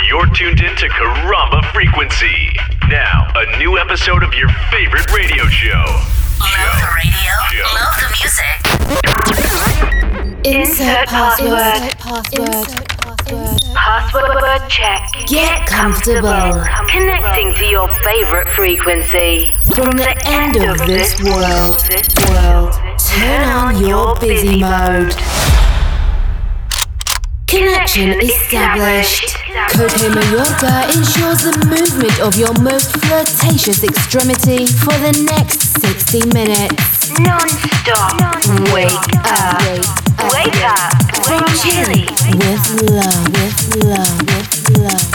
You're tuned in to Karamba Frequency. Now, a new episode of your favorite radio show. Love the radio, love the music. Insert password. Password check. Get comfortable. Connecting to your favorite frequency. From the end of this world, turn on your busy mode. Connection established. Cote Mayorga ensures the movement of your most flirtatious extremity for the next 60 minutes. Non-stop. Wake up. Wake up. From Chile. With love.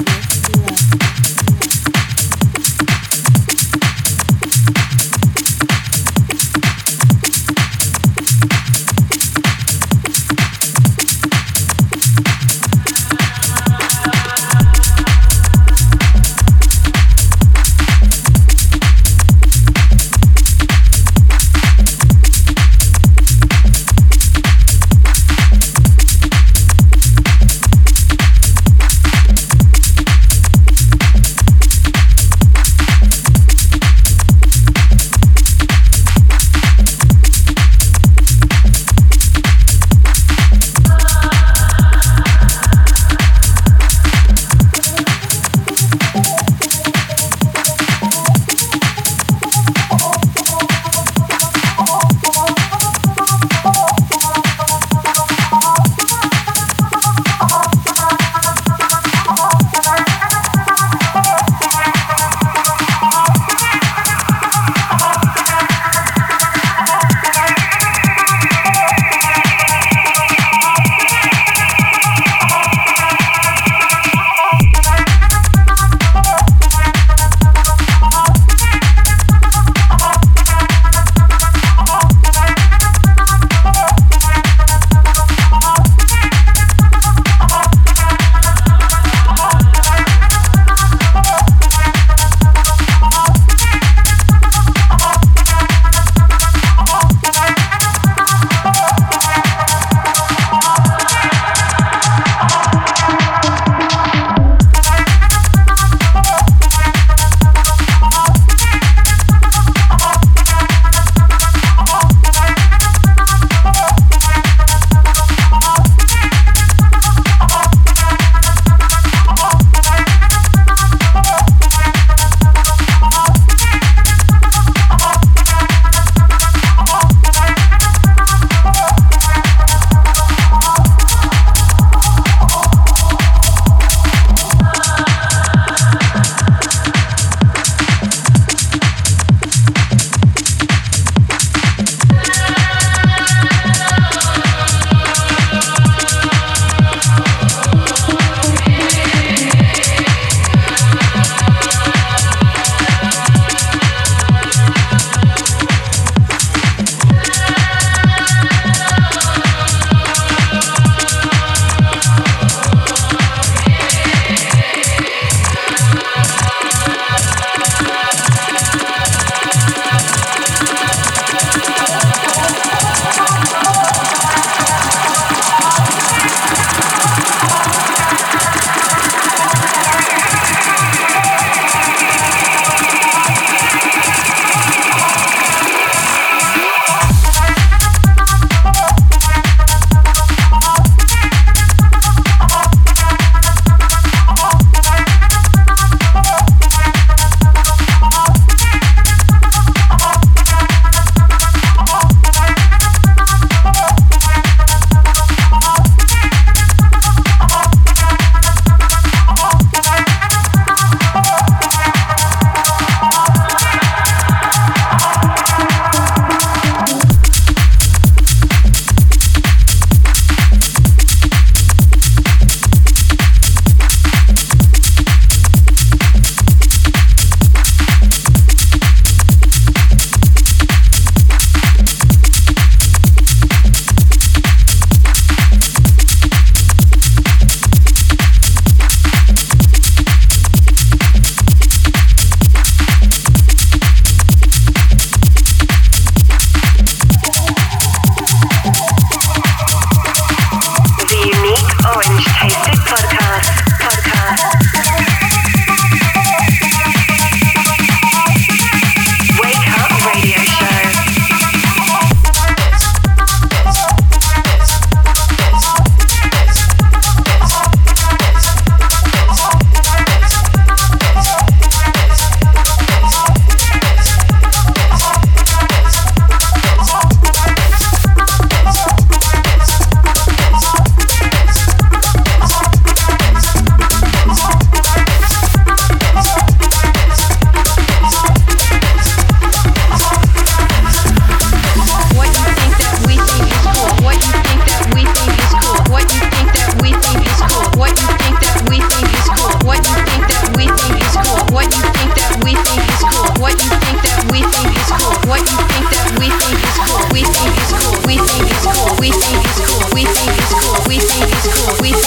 Orange Tasted Podcast.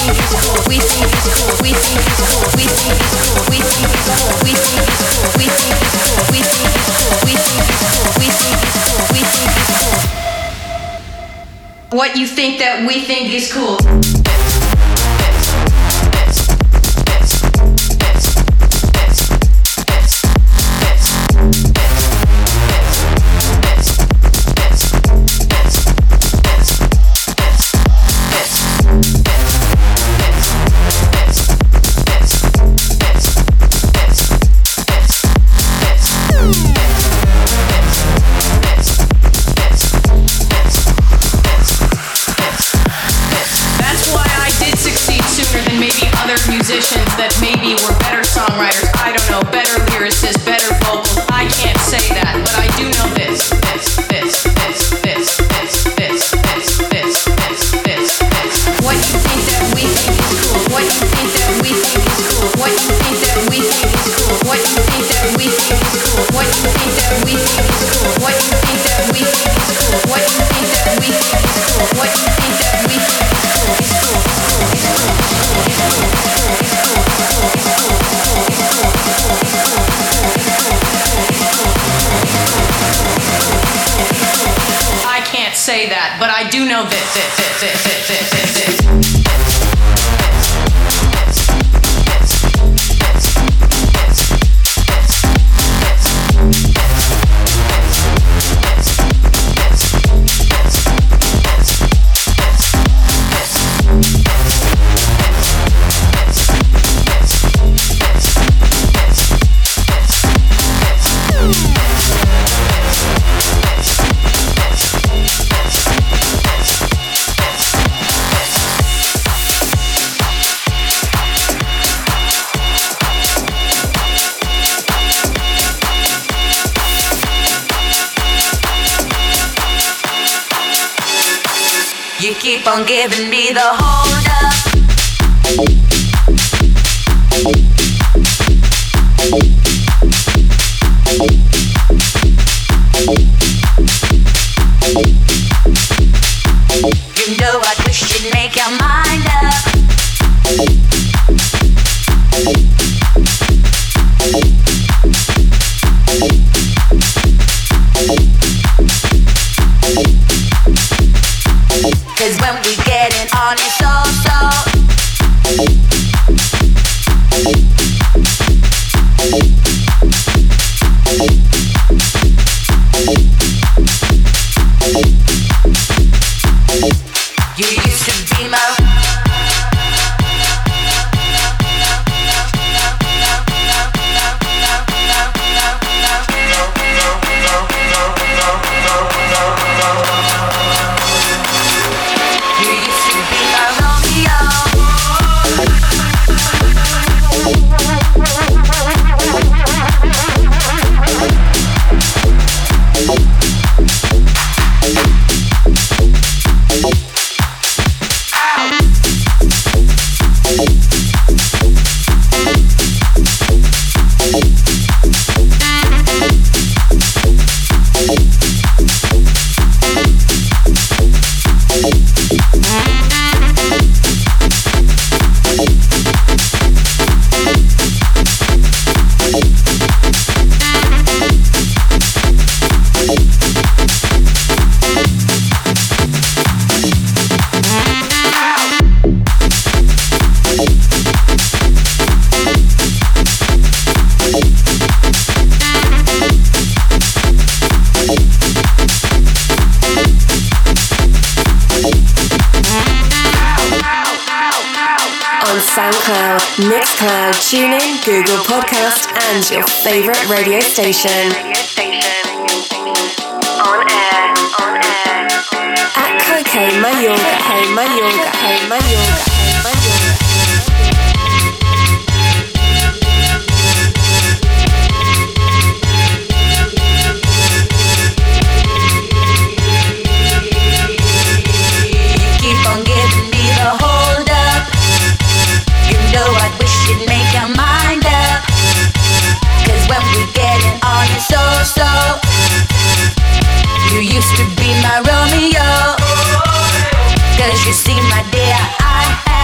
think it's cool. We think it's cool. We think it's cool. We think it's cool. We think it's cool. We think it's cool. We think it's cool. We think it's cool. We think it's cool. We think it's cool. We think it's cool. What you think that we think is cool. Musicians that maybe were better songwriters, I don't know, better lyricists, better vocals. I can't say that, but I do know this. What you think that we think is cool? What you think that we think is cool? What you think that we think is cool? What you think that we think is cool? What you think that we think is cool? What you think that we think is cool? What you think that we think is cool? What you think that we think is cool? Is cool. I can't say that, but I do know this. You keep on giving me the hold up. You know I wish you'd make your mind up. Cause when we getting on it's so you used to be my SoundCloud, Mixcloud, TuneIn, Google Podcast, and your favorite radio station. On air. At Cocaine Mayorga, Mayorga. Keep on giving me the hold up. You know I wish you'd make your mind up. Cause when we getting on it's so you used to be my Romeo. Cause you see my dear, I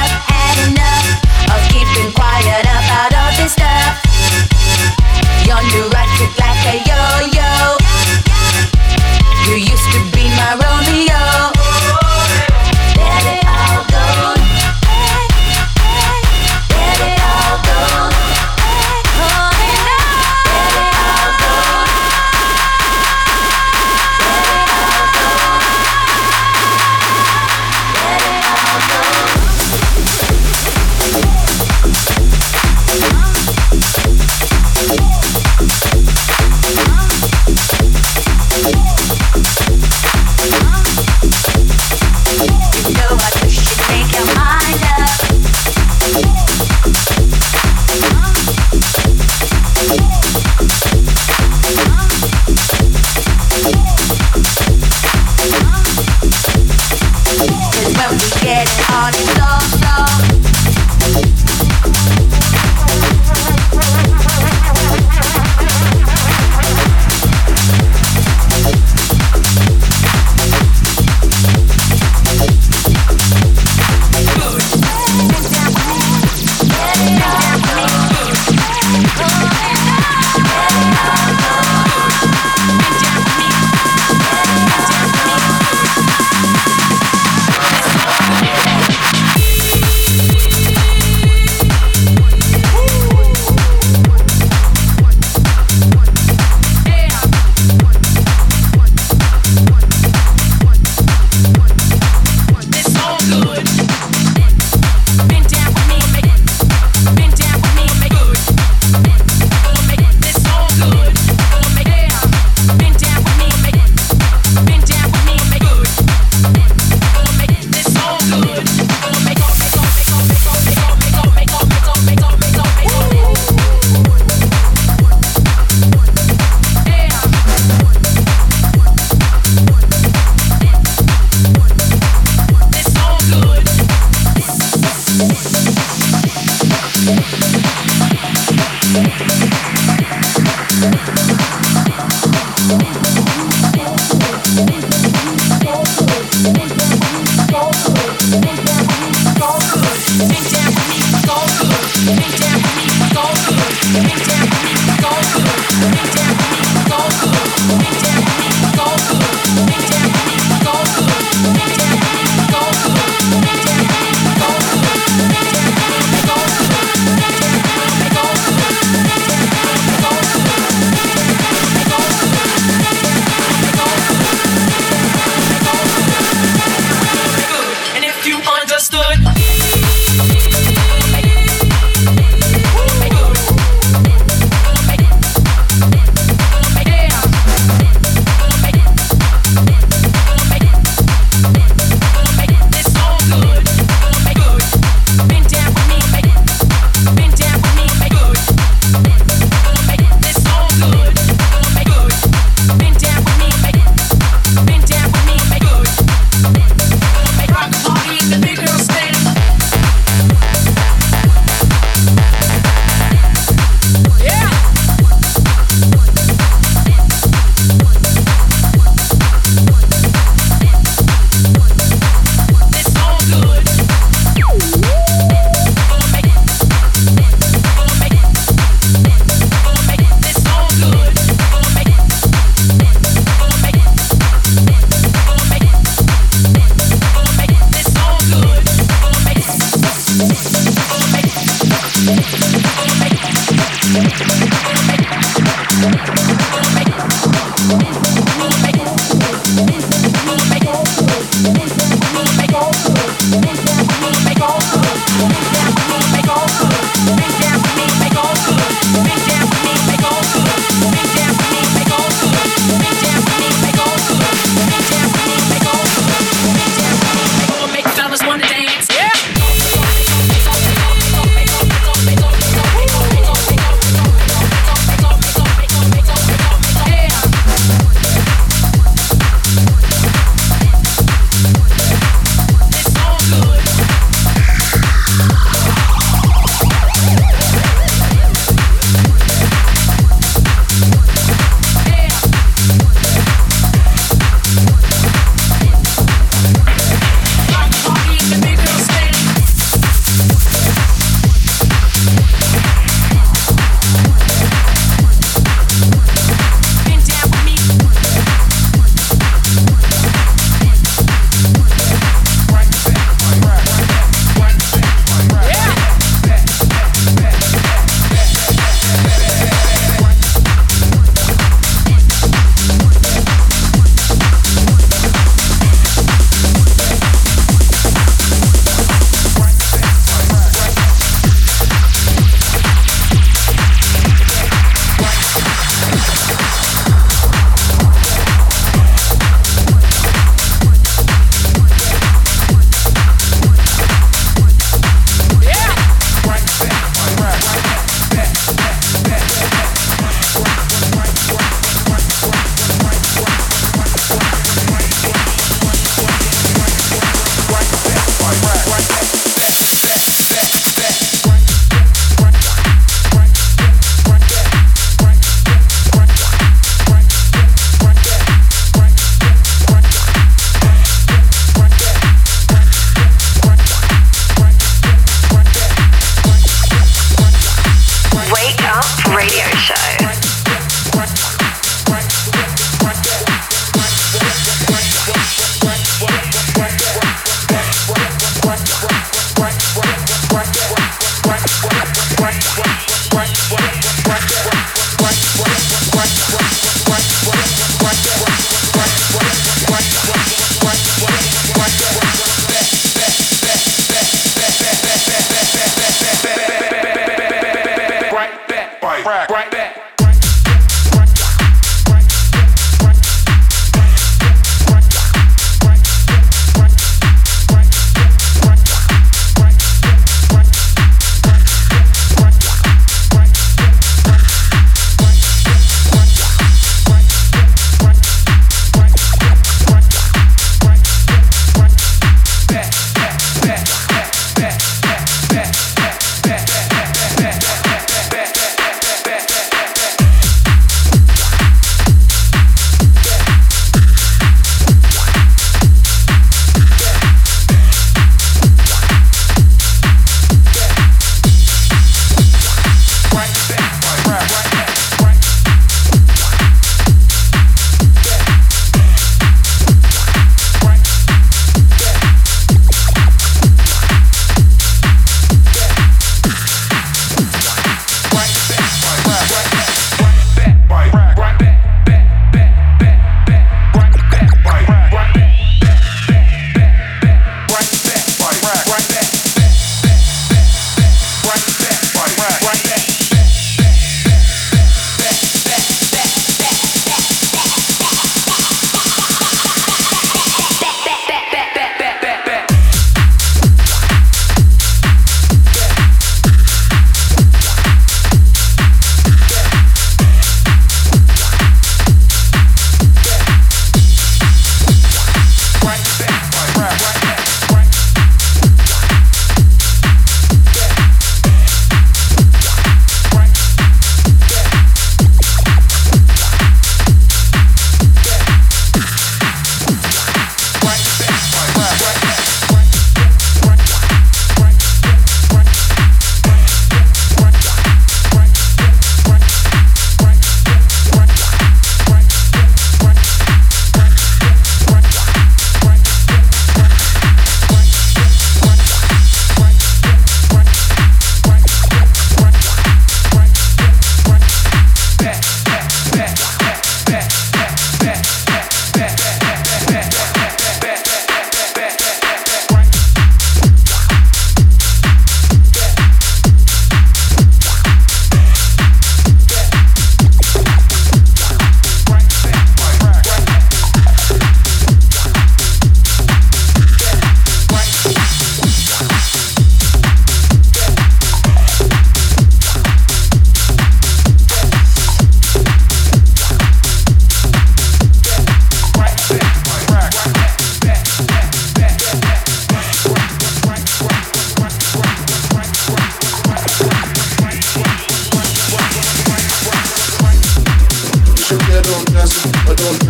Make fellas wanna dance, yeah.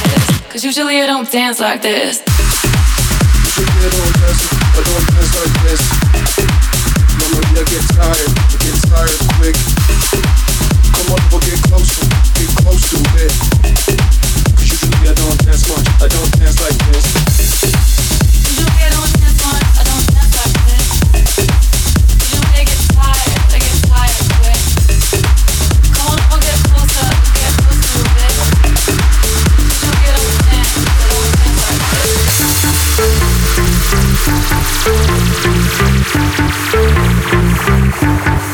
this. Cause usually I don't dance like this. Usually I don't dance like this. Normally I get tired quick. Come on, we'll get close to it. Cause usually I don't dance much, I don't dance like this. Usually I don't dance much, I don't dance like this. Usually I get tired quick. Come on, we'll get closer to it. Usually I don't dance like this.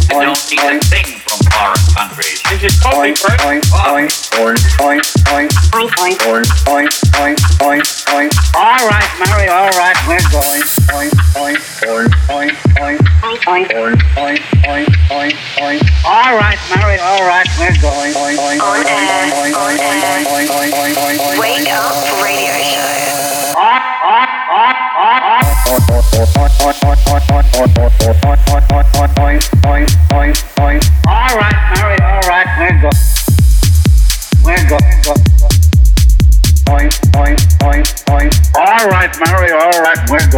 You don't need a thing from foreign countries. This is totally correct. All right, Mary, all right, we're going. All right, Mary, all right, we're going. Wake up radio show. All right, Mary, all right, we're going. All right, Mary, all right, we're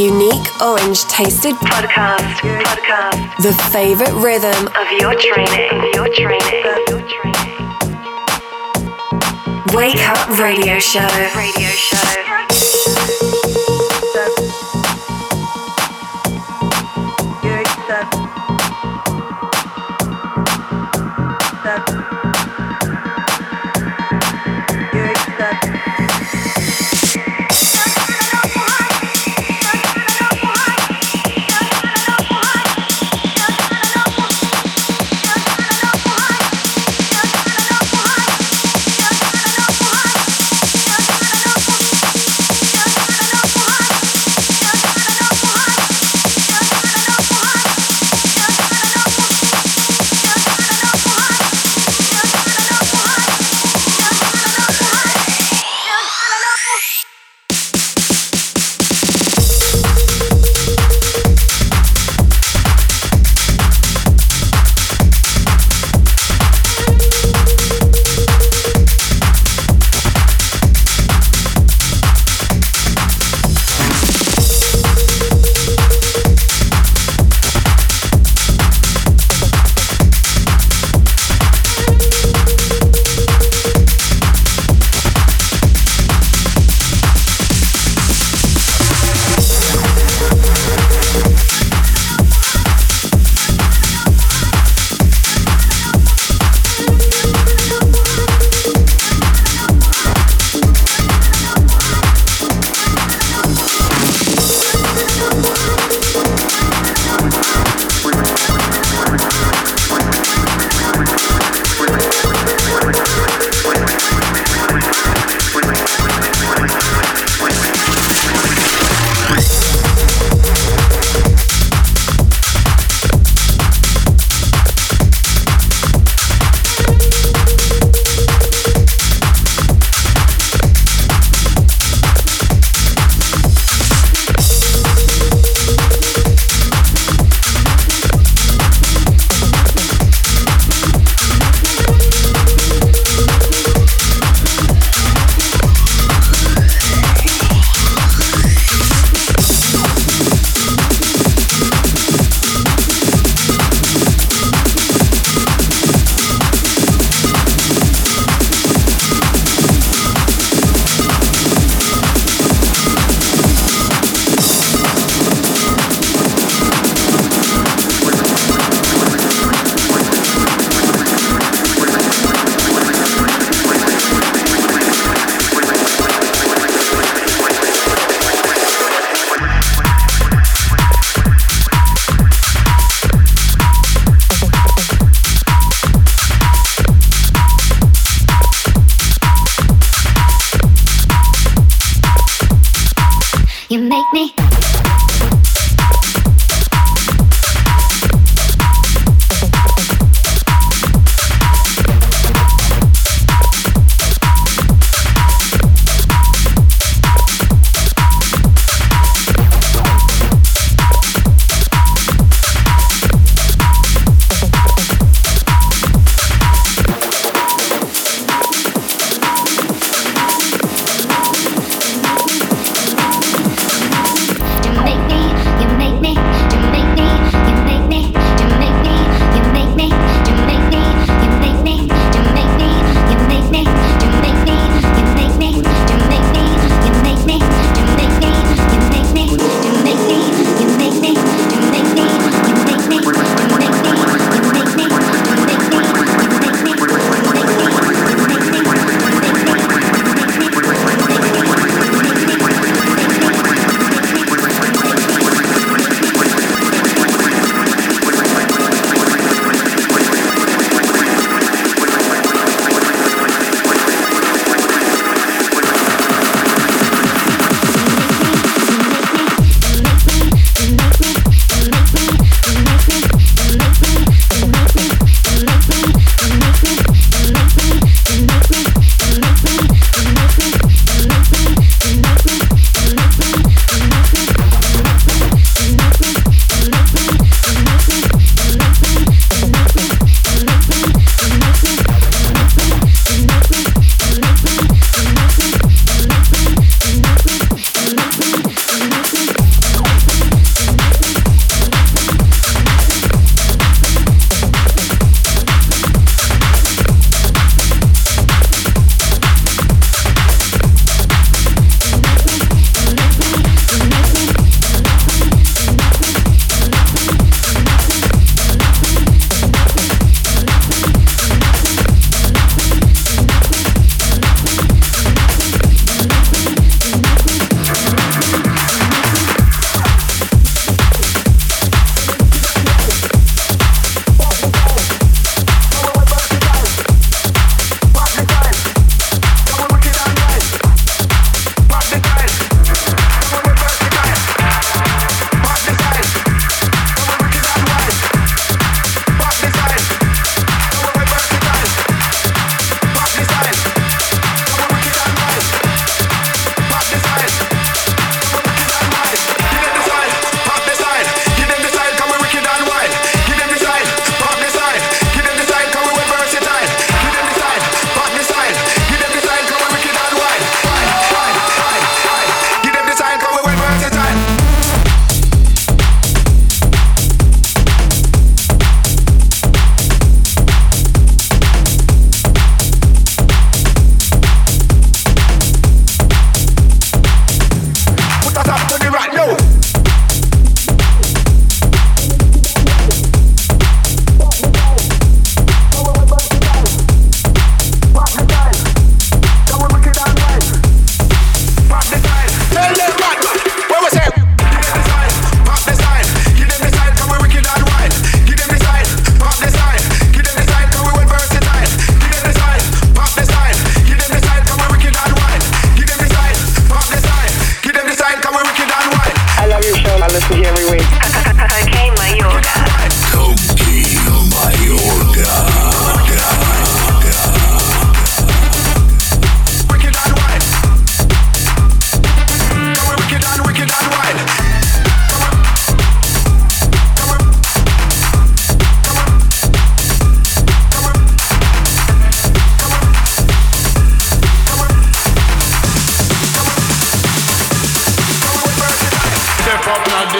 unique orange tasted Podcast. the favorite rhythm Of your training. Wake Up Radio Show.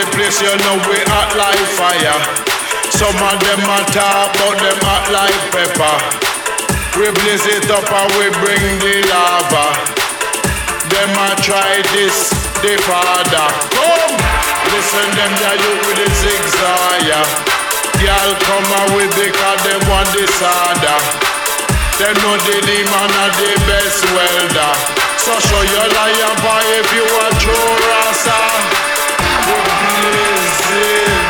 the place, you know we hot like fire. Some of them a talk, but them hot like pepper. We blaze it up and we bring the lava. Them a try this, the father. Come! Listen them ya you with the zigzag. Girl come away because them want the soda. Them know the demon are the best welder. So show your lion boy if you a true rasta. We blazing.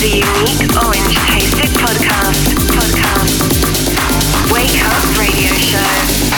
the unique Orange Tasted Podcast. Wake Up Radio Show.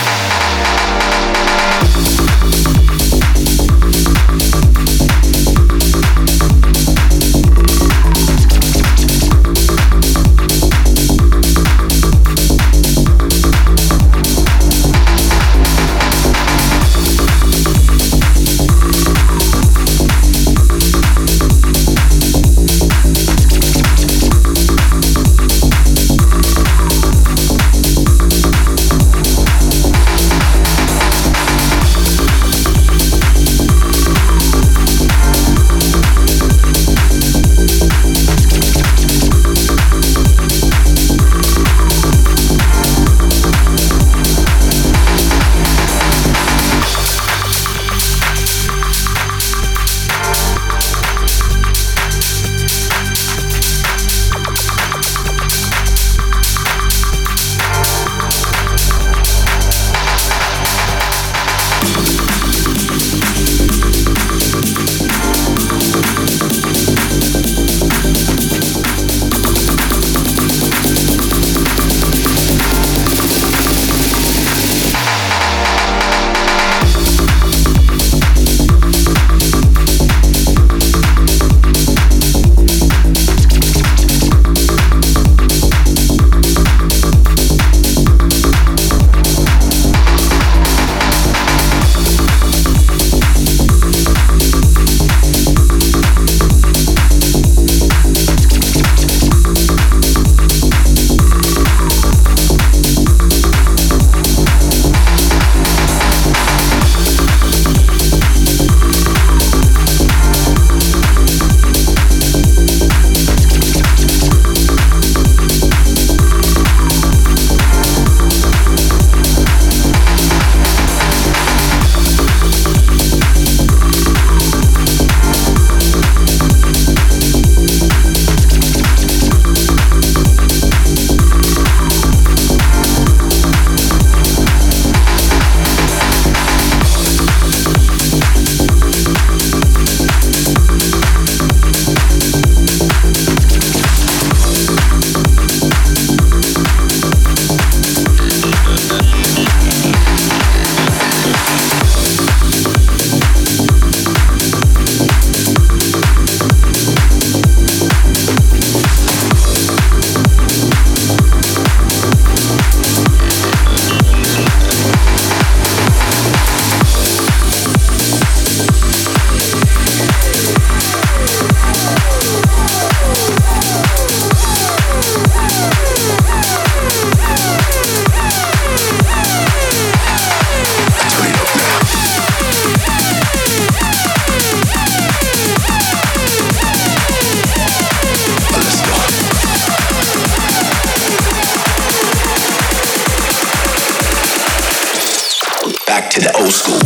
To the old school.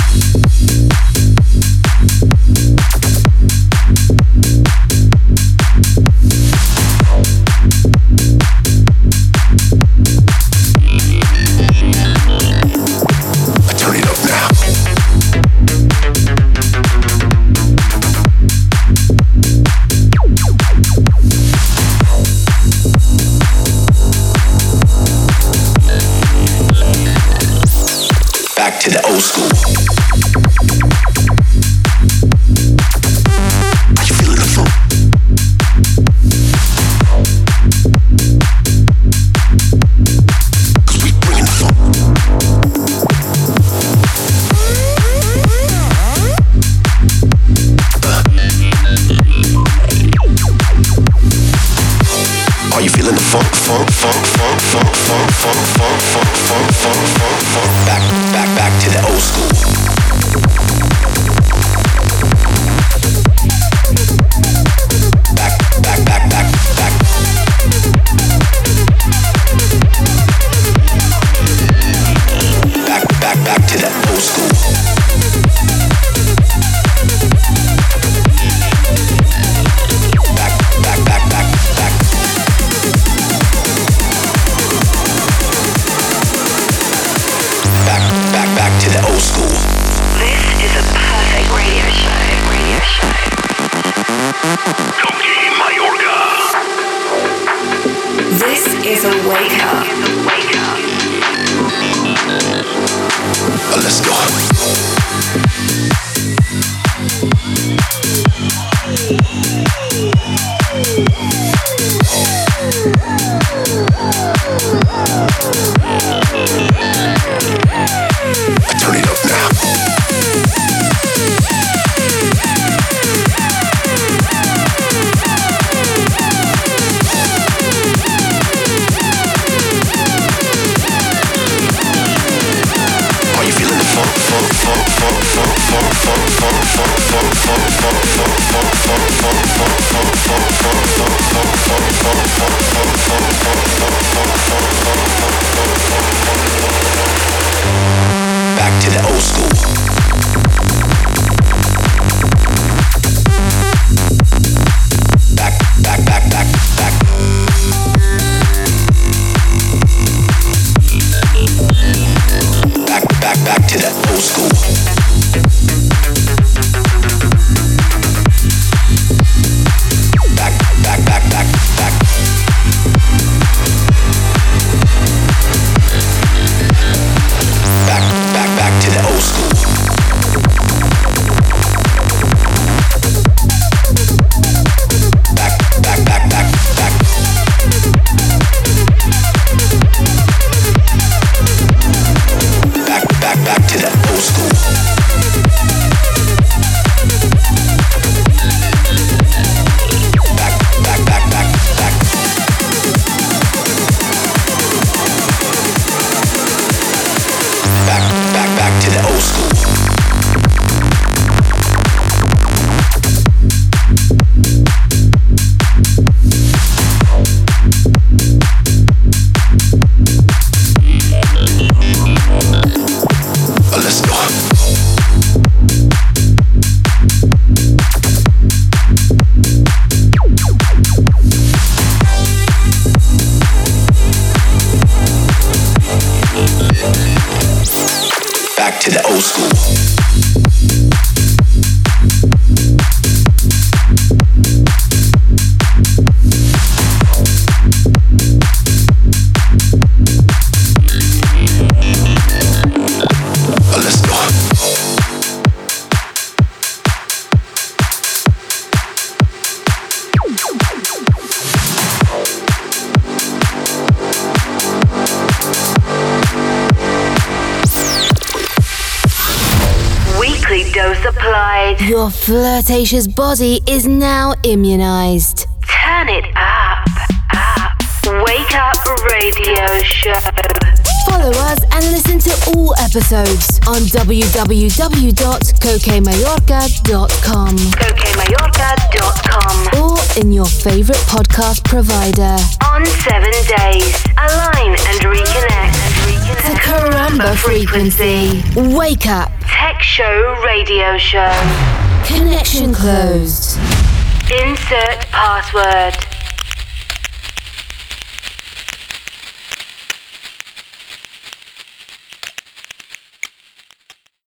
To the old school. Are you feeling the funk? Cause we bringing the funk. Are you feeling the funk, funk, funk, funk, funk, funk, funk, funk, funk, funk, funk, funk, funk? Back to the old school. Back. Back to the old school. Back to the old school. Wake up. Let's go. Turn it up now. Are you feeling the funk? Back to the old school. Back. Back to the old school. Back. Back to the old school. Back. Back to the old school. Back. Back to the old school. Let's go. Back to the old school. Let's go. Weekly dose applied. Your flirtatious body is now immunized. Turn it up. Wake up radio show. Follow us and listen to all episodes on www.cokemayorga.com cokemayorga.com or in your favorite podcast provider. On 7 days. Align and reconnect. The Caramba frequency. Wake up. Tech show radio show. Connection closed. Insert password.